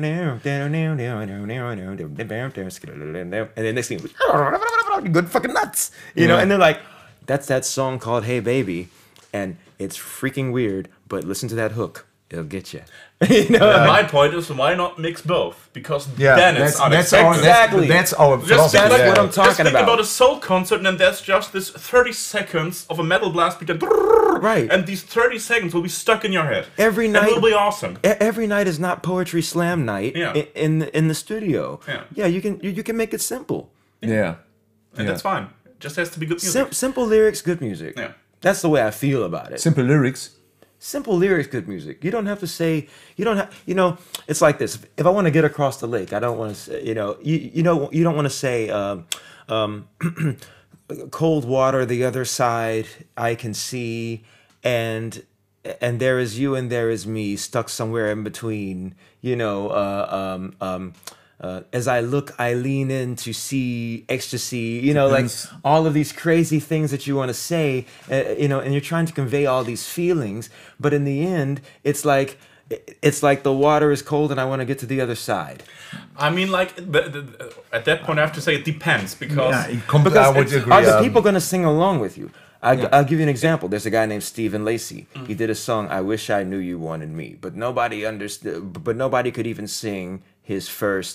then next thing, you go fucking nuts. You know, Yeah. and they're like, that's that song called Hey Baby. And it's freaking weird, but listen to that hook. It'll get you. you know? And my point is, why not mix both? Because yeah, then that's it's that's our unexpected. Exactly. that's, that's our Just philosophy. think that's like what I'm Just talking think about. about a soul concert, and there's just this thirty seconds of a metal blast beat, that Right. and these thirty seconds will be stuck in your head. Every It night- will be awesome. E- Every night is not poetry slam night Yeah. i- in the, in the studio. Yeah. yeah, you can you, you can make it simple. Yeah, And yeah. that's fine. It just has to be good music. Sim- simple lyrics, good music. Yeah. That's the way I feel about it. Simple lyrics. Simple lyrics, good music. You don't have to say. You don't have. You know, it's like this. If I want to get across the lake, I don't want to. Say, you know, you you know, you don't want to say. Um, um, cold water, the other side, I can see, and and there is you and there is me stuck somewhere in between. You know, uh, um, um, uh, as I look, I lean in to see ecstasy. You know, Depends. like all of these crazy things that you want to say. Uh, you know, and you're trying to convey all these feelings, but in the end, it's like. It's like the water is cold and I want to get to the other side. I mean, like the, the, at that point, I have to say it depends because Yeah, it com- Because I would it's- agree. are the um, people going to sing along with you? I, Yeah. I'll give you an example. There's a guy named Stephen Lacey. He did a song, "I Wish I Knew You Wanted Me," but nobody understood. But nobody could even sing his first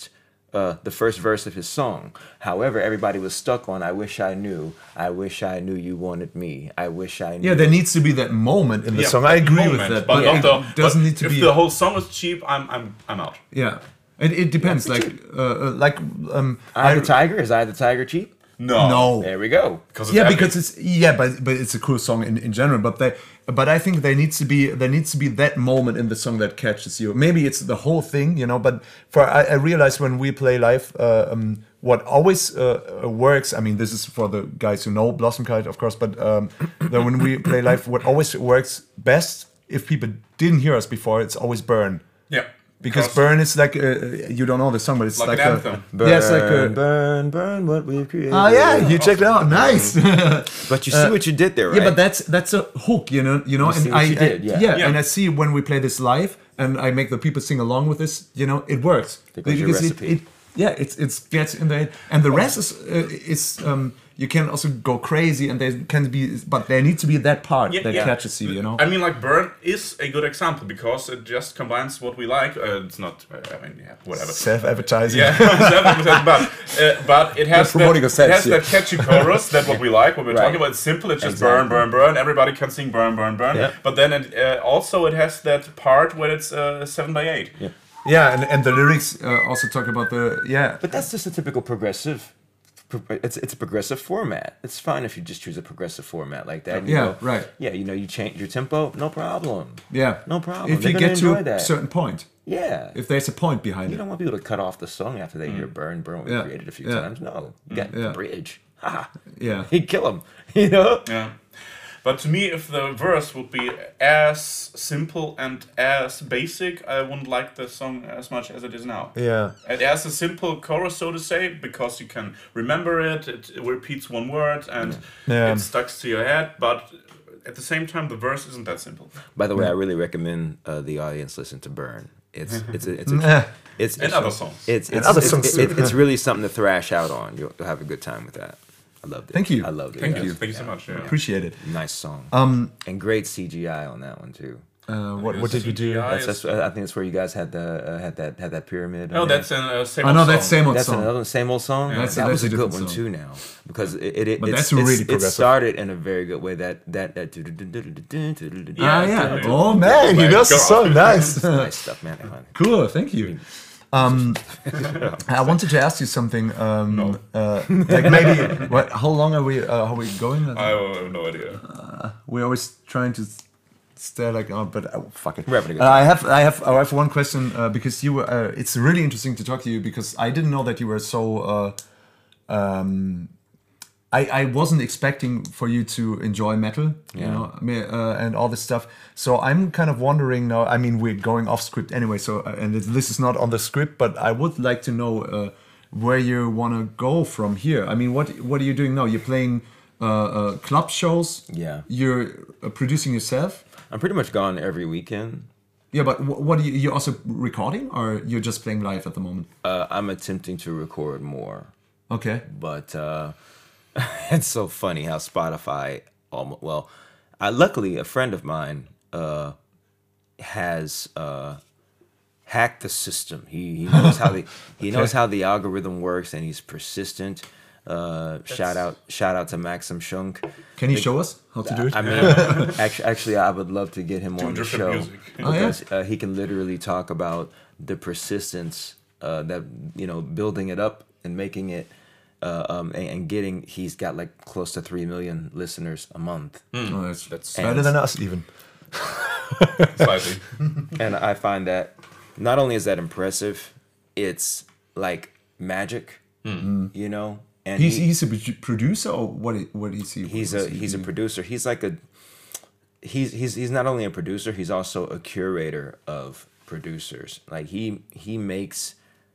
uh, the first verse of his song. However, everybody was stuck on "I wish I knew, I wish I knew you wanted me, I wish I knew." Yeah, there needs to be that moment in the Yeah, song. I agree moment, with that, but but not the, it doesn't but need to if be. the whole song is cheap, I'm I'm I'm out. Yeah, it, it depends. Yeah, like, uh, uh, like um, Eye of the Tiger, is Eye of the Tiger cheap? No, No. There we go. because it's yeah, epic. because it's yeah, but but it's a cool song in, in general. But they, but I think there needs to be there needs to be that moment in the song that catches you. Maybe it's the whole thing, you know. But for I, I realize when we play live, uh, um, what always uh, uh, works. I mean, this is for the guys who know Blossom Kite, of course. But um, that when we play live, what always works best if people didn't hear us before, it's always Burn. yeah. Because Burn is like uh, you don't know the song, but it's Like like, an a, anthem. Burn, yeah, it's like a, burn, burn what we've created. oh yeah, you checked it out, nice. But you see what you did there, right? Yeah, but that's that's a hook, you know, you know, You see and what I, you I- did, yeah. yeah, Yeah. and I see when we play this live, and I make the people sing along with this, you know, it works There goes your because it, recipe. it, yeah, it's it's gets in the head, and the rest is uh, is um you can also go crazy, and there can be, but there needs to be that part Yeah, that yeah. catches you, you know. I mean, like Burn is a good example because it just combines what we like. Uh, it's not, uh, I mean, yeah, whatever. Self-advertising. Yeah, but uh, but it has that, promoting it yourself, has yeah. that catchy chorus that what we like. What we're Right. talking about. It's simple. It's just Exactly. burn, burn, burn. Everybody can sing burn, burn, burn. Yeah. But then it, uh, also it has that part where it's uh, seven by eight. Yeah. Yeah, and, and the lyrics uh, also talk about the yeah. But that's just a typical progressive. pro- It's it's a progressive format. It's fine if you just choose a progressive format like that. You Yeah, know, right. Yeah, you know, you change your tempo, no problem. Yeah, No problem. If They're you gonna get to enjoy a that. certain point, Yeah. if there's a point behind You it. don't want people to cut off the song after they hear "Burn, Burn." We Yeah. created a few Yeah. times. No, you got Yeah. the bridge. Ha! Yeah, He'd kill him. You know. Yeah. But to me, if the verse would be as simple and as basic, I wouldn't like the song as much as it is now. yeah. It has a simple chorus, so to say, because you can remember it. It, it repeats one word and Yeah. it stuck to your head. But at the same time, the verse isn't that simple. By the way, I really recommend uh, the audience listen to "Burn." It's it's a, it's Nah. a, it's And it's, other songs. It's it's, other it's, songs it- too. it's really something to thrash out on. You'll, you'll have a good time with that. I loved it. Thank you. I loved it. Thank yeah. you. Thank you so much. Yeah. Appreciate it. Nice song. Um, And great C G I on that one too. uh, what what did we do? C G I That's, is- that's I think that's where you guys had the uh, had that had that pyramid. Oh, on there. that's an uh, same I old know song. that same old That's song. another same old song. That's- that that's was a a good different one song. too now because it it, it But it's, that's it's- really it progressive. started in a very good way. That that that. Ah, yeah. yeah. Oh man, he Like, knows the go song. off. Nice. Nice stuff, man. Cool. Thank you. Um, I wanted to ask you something. Um, No. uh, like maybe what? How long are we? Uh, how are we going? I have no idea. We're always trying to stare like, oh, but uh, fuck it. We're having a good Uh, I have, I have, I have one question uh, because you. were, Uh, it's really interesting to talk to you because I didn't know that you were so. Uh, um, I, I wasn't expecting for you to enjoy metal, you Yeah. know, I mean, uh, and all this stuff. So I'm kind of wondering now. I mean, we're going off script anyway, so uh, and it, this is not on the script, but I would like to know uh, where you want to go from here. I mean, what what are you doing now? You're playing uh, uh, club shows. Yeah. You're uh, producing yourself. I'm pretty much gone every weekend. Yeah, but wh- what are you? You're also recording, or you're just playing live at the moment? Uh, I'm attempting to record more, Okay. but uh, it's so funny how Spotify almost well. I, luckily, a friend of mine uh, has uh, hacked the system. He, he knows how the he knows how the algorithm works, and he's persistent. Uh, shout out shout out to Maxim Schunk. Can you show us how to do it? I mean, actually, actually, I would love to get him on the different show music. Oh, yeah? because uh, he can literally talk about the persistence uh, that you know, building it up and making it, uh, um, and, and getting. He's got like close to three million listeners a month, Oh, that's, That's better than us, even. slightly. and I find that not only is that impressive, it's like magic, you know. And He's he- he's a produ- producer, or what? i- What is he? he's what a does he he's a do? producer. He's like a he's he's he's not only a producer, he's also a curator of producers. Like he he makes.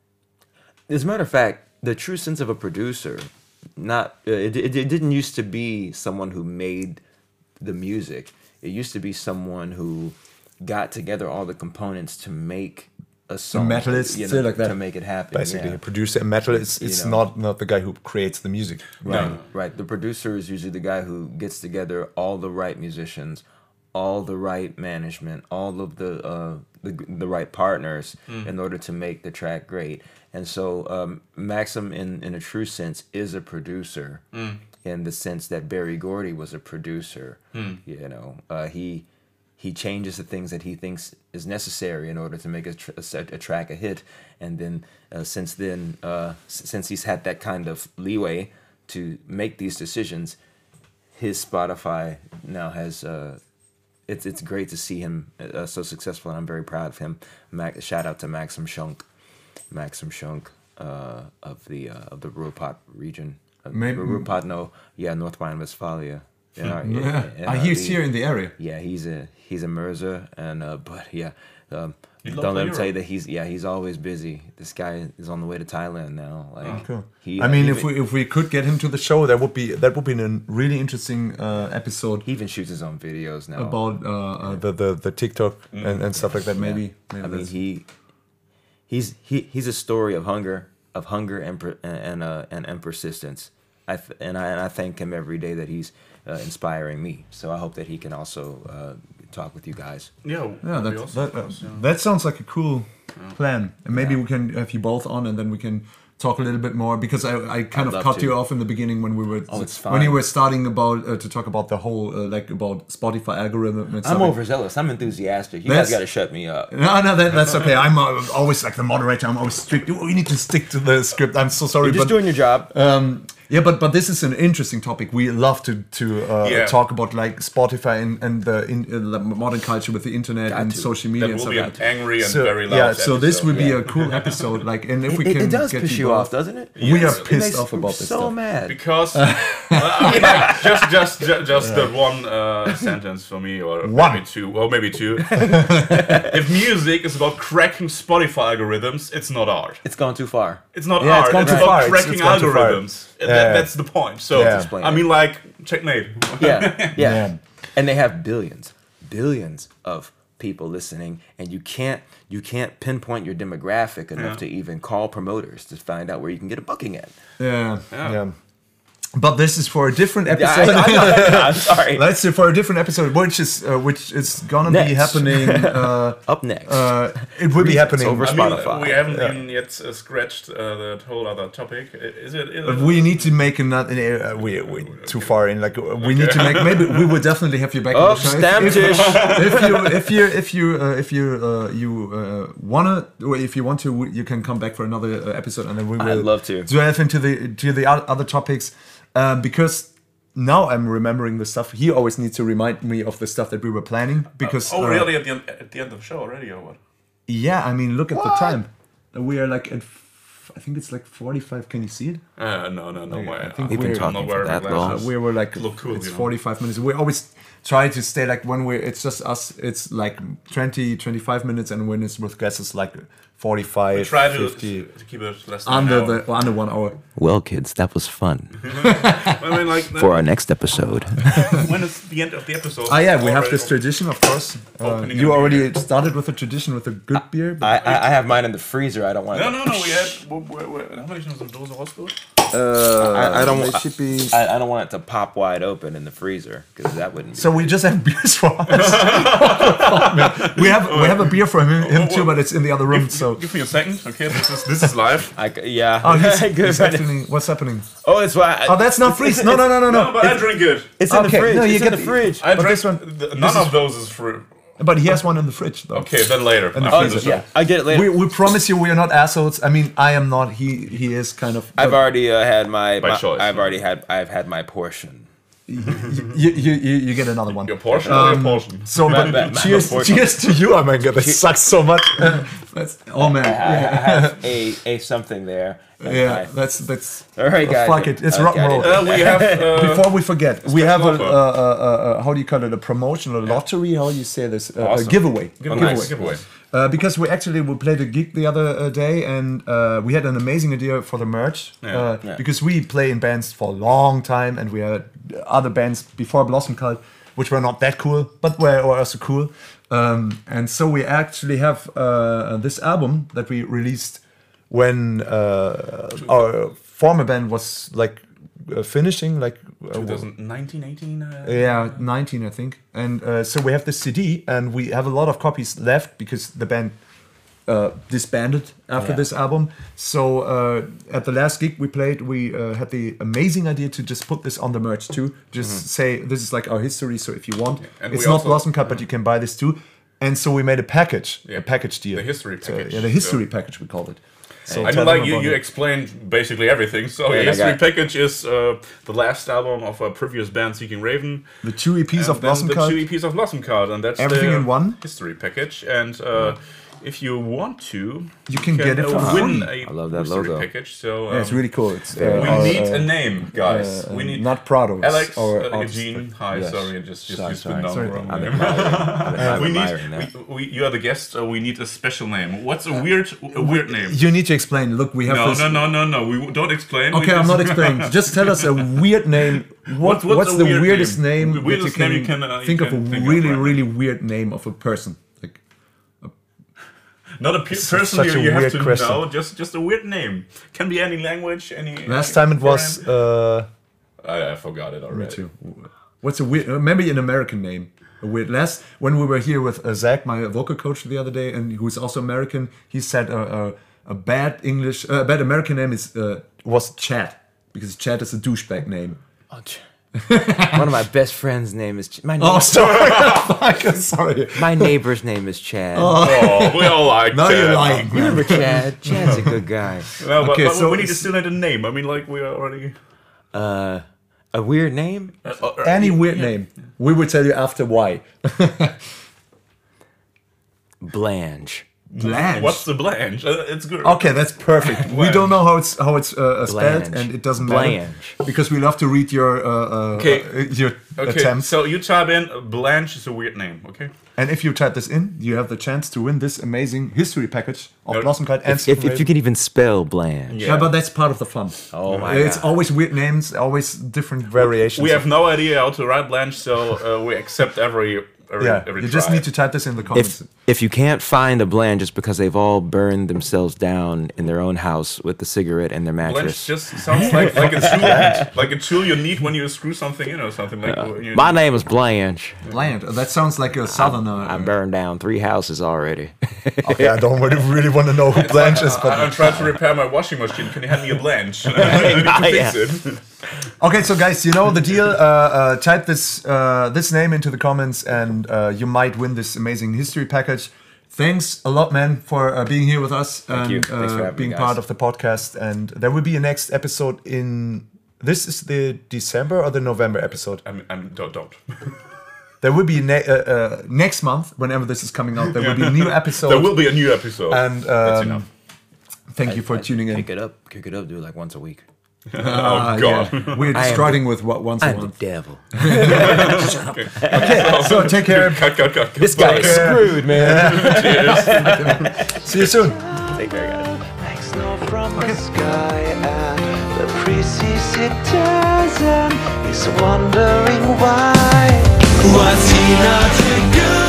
As a matter of fact, the true sense of a producer, not uh, it, it it didn't used to be someone who made the music. It used to be someone who got together all the components to make a song. metal is you still know, like that. to make it happen. Basically, yeah. a producer in metal is it's You know. not not the guy who creates the music. Right, No. right. The producer is usually the guy who gets together all the right musicians, all the right management, all of the uh, the, the right partners mm. in order to make the track great. And so um, Maxim, in, in a true sense, is a producer mm. in the sense that Berry Gordy was a producer. Mm. You know, uh, he he changes the things that he thinks is necessary in order to make a, tr- a, a track a hit. And then uh, since then, uh, s- since he's had that kind of leeway to make these decisions, his Spotify now has. Uh, it's it's great to see him uh, so successful, and I'm very proud of him. Mac, shout out to Maxim Schunk, Maxim Schunk uh, of the uh, of the Ruhrpott region. Uh, Maybe Ruhrpott, no, yeah, North Rhine-Westphalia. In our, yeah, in, in uh, he's here in the area. Yeah, he's a he's a Merzer, and uh, but yeah. Um, Don't let him tell you that he's yeah he's always busy. This guy is on the way to Thailand now. Like, oh, cool. He, I mean, he if even, we if we could get him to the show, that would be that would be a really interesting uh, episode. He even shoots his own videos now about uh, uh, the, the the TikTok mm. and, and stuff like that. Maybe, yeah. maybe I mean he he's he he's a story of hunger of hunger and and uh, and, and persistence. I th- and I and I thank him every day that he's uh, inspiring me. So I hope that he can also uh, talk with you guys. Yeah, yeah, that awesome. that, uh, yeah. that sounds like a cool yeah. plan. And maybe yeah. we can have you both on, and then we can talk a little bit more, because I, I kind I'd of cut to. you off in the beginning when we were oh, it's fine. when you were starting about uh, to talk about the whole uh, like about Spotify algorithm. And I'm overzealous. I'm enthusiastic. You that's, guys got to shut me up. No, no, that, that's okay. I'm uh, always like the moderator. I'm always strict. We need to stick to the script. I'm so sorry. You're just but, doing your job. Um, yeah, but but this is an interesting topic. We love to to uh, yeah. talk about like Spotify and and the, in, uh, the modern culture with the internet got and to. social media. That will and be an angry and so, very loud Yeah, so episode. this would be yeah. a cool episode. Like, and if it, we can, it does get piss you off, doesn't it? We yes. are pissed it off about this. So stuff. mad because uh, I mean, like, just just just, just yeah. the one uh, sentence for me, or one. maybe two, or maybe two. If music is about cracking Spotify algorithms, it's not art. It's gone too far. It's not yeah, art. It's, gone it's too about far. cracking it's, it's algorithms. Yeah. That, that's the point. So yeah. I mean, like, checkmate. yeah, yeah, yeah, and they have billions, billions of people listening, and you can't you can't pinpoint your demographic enough yeah. to even call promoters to find out where you can get a booking at. Yeah, yeah. yeah. But this is for a different episode. I, I, I, I'm sorry. Let's say for a different episode, which is uh, which is gonna next. be happening uh, up next. Uh, it will be happening over I Spotify. mean, we haven't yeah. even yet uh, scratched uh, that whole other topic. Is it? Is it we need to make another. Uh, we we too far in. Like we okay. need to make. Maybe we will definitely have you back. Oh, on the show. Stammtisch. If, if you if you if you uh, if you uh, you uh, wanna, or if you want to, you can come back for another uh, episode, and then we will. I'd love to delve into the to the other topics. Um, because now I'm remembering the stuff. He always needs to remind me of the stuff that we were planning. Because uh, oh, uh, really? At the end, at the end of the show already, or what? Yeah, I mean, look at what? the time. We are like at. F- I think it's like forty-five. Can you see it? Uh, no, no, no I, way. I think We've we're been talking for that long. Uh, we were like, look cool, it's you know? forty-five minutes. We always try to stay like when we're. It's just us. It's like twenty, twenty-five minutes, and when it's with guests, it's like forty-five, we try to, fifty. To keep it less than under an hour. the under one hour. Well, kids, that was fun. I mean, like, for our next episode. When is the end of the episode? Ah, yeah, we have this tradition, of course. Uh, you already beer. started with a tradition with a good beer. I, I I have mine in the freezer. I don't want. No, to no, no. We had. Where, where, how many sind Dose rausgeholt? Uh, I, I don't. They should be. I, I don't want it to pop wide open in the freezer because that wouldn't. Be so we just have beers for us. we have we have a beer for him, him too, but it's in the other room. Give, so give me a second. Okay, this is this is live. I, yeah. Oh, he's, Good. he's happening. What's happening? Oh, it's why. Oh, that's not freeze. No, no, no, no, no. No, but I drink it. It's in okay. the fridge. No, you it's get in the fridge. I but drink. this one, The, this none is, of those is free. But he has one in the fridge, though. Okay, then later. In the after freezer. the show. Yeah, I get it later. We, we promise you we are not assholes. I mean, I am not. He he is kind of. I've already uh, had my. By my choice, I've no? already had. I've had my portion. you, you, you, you get another one. Your portion Um, or your portion? So, My- but my- my cheers, portion. cheers to you, Amanga. That sucks so much. That's, oh man, I, I yeah, have a a something there. That's yeah. my- That's that's. All right, uh, guys. fuck it. It's Okay, rock and roll. Uh, we have. Uh, Before we forget, we have a, uh, offer. uh, uh, how do you call it, a promotional lottery? How do you say this? Uh, Awesome. A giveaway. Giveaway. giveaway. Giveaway. Uh, because we actually we played a gig the other uh, day, and uh, we had an amazing idea for the merch. Yeah. Uh, Yeah. Because we play in bands for a long time, and we had other bands before Blossom Cult, which were not that cool, but were also cool. Um, and so we actually have uh, this album that we released when uh, our former band was like uh, finishing, like uh, twenty nineteen, eighteen. Uh, yeah, nineteen, I think. And uh, so we have this C D, and we have a lot of copies left because the band uh, disbanded after Yeah. this album. So uh, at the last gig we played, we uh, had the amazing idea to just put this on the merch too. Just Mm-hmm. say this is like our history. So if you want, And it's we not also- Blossom Cut, but you can buy this too. And so we made a package, Yeah. a package deal. The history So, package. yeah, the history So- package we called it. So I tell mean, them like you, about you it. explained basically everything. So Yeah, the I history got- package is uh, the last album of a previous band, Seeking Raven. The two E Ps And of then Blossom the Cult. two E Ps of Blossom Cult, and that's Everything the in one? history package. And uh, if you want to, You can get it uh, for win free. a I love that history logo. package. So um, Yeah, it's really cool. It's, uh, we our, need uh, a name, guys. uh, we need not Prado. Alex, or uh, artist, Eugene. but- Hi, Yes. sorry, I just just Sorry, used the sorry. number Sorry. wrong I'm name. admiring, I'm we admiring need. that. We, we, you are the guest. So we need a special name. What's a weird, a weird name? You need to explain. Look, we have No, this. no, no, no, no. We w- don't explain. We Okay, I'm just- not explaining. Just tell us a weird name. What, What's- what's what's a the weird weirdest name? name, The weirdest that you can, name you can, uh, you think can of a think of really, right now. really weird name of a person? Like Not a pe- It's person such you, a you have weird to question. know. Just, just a weird name. Can be any language. Any. last any time it was. foreign- Uh, I, I forgot it already. me too. What's a weird? Uh, maybe an American name. A weird. Last when we were here with uh, Zach, my vocal coach the other day, and who's also American, he said uh, uh, a bad English, uh, a bad American name is uh, was Chad because Chad is a douchebag name. Oh, ch- One of my best friends' name is Ch- my Oh, neighbor, sorry. Fuck, sorry. my neighbor's name is Chad. Oh, we all like Now that. you're lying. man. Remember Chad? Chad's a good guy. No, but, Okay, but so we need to it's- still need a name. I mean, like we are already. Uh, a weird name? Uh, uh, Any weird name. We will tell you after why. Blanche. Blanche. What's the Blanche? Uh, it's good. Okay, that's perfect. We Blanche. don't know how it's how it's uh, spelled, Blanche. and it doesn't matter Blanche. because we love to read your uh, uh, Okay. uh, your Okay, attempts. so you type in uh, Blanche is a weird name. Okay. And if you type this in, you have the chance to win this amazing history package of No, Blossom Kite and If, if, if you can even spell Blanche. yeah. but that's part of the fun. Oh my It's god. always weird names, always different variations. We have no idea how to write Blanche, so uh, we accept every every yeah, every you just try. need to type this in the comments. If if you can't find a Blanche just because they've all burned themselves down in their own house with the cigarette and their Blanche mattress. just sounds like like a tool, like a tool you need when you screw something in or something like. you My name is Blanche. Bland. That sounds like a southerner. I burned down three houses already. okay, I don't really, really want to know who Blanche is, I- but I'm trying to repair my washing machine. Can you hand me a Blanche? I need to Yeah. fix it. okay. So guys, you know the deal. Uh, uh, type this uh, this name into the comments, and uh, you might win this amazing history package. Thanks a lot, man, for uh, being here with us and you. Thanks for uh, having me, being guys. part of the podcast. And there will be a next episode in. This is the December or the November episode. I'm, I'm don't don't. There will be ne- uh, uh, next month, whenever this is coming out. There will be a new episode. There will be a new episode. And That's um, enough. thank you for tuning in. Kick it up, kick it up, do it like once a week. Oh Ah, God. yeah. We're I am starting with what once a I'm the month. devil. So take care. Cut, cut, cut. This guy is screwed, man. See you soon. Take care, guys. Like snow from the sky, and the priest sees it doesn't. He's wondering why. What's he not to do?